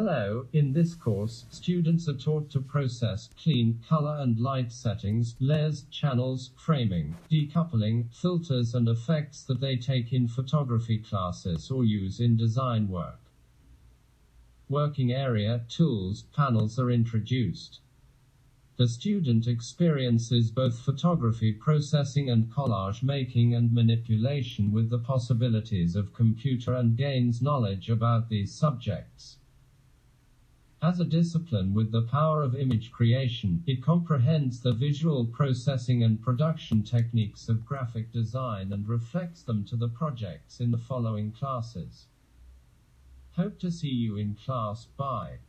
Hello, in this course, students are taught to process, clean, color and light settings, layers, channels, framing, decoupling, filters and effects that they take in photography classes or use in design work. Working area, tools, panels are introduced. The student experiences both photography processing and collage making and manipulation with the possibilities of computer and gains knowledge about these subjects. As a discipline with the power of image creation, it comprehends the visual processing and production techniques of graphic design and reflects them to the projects in the following classes. Hope to see you in class. Bye.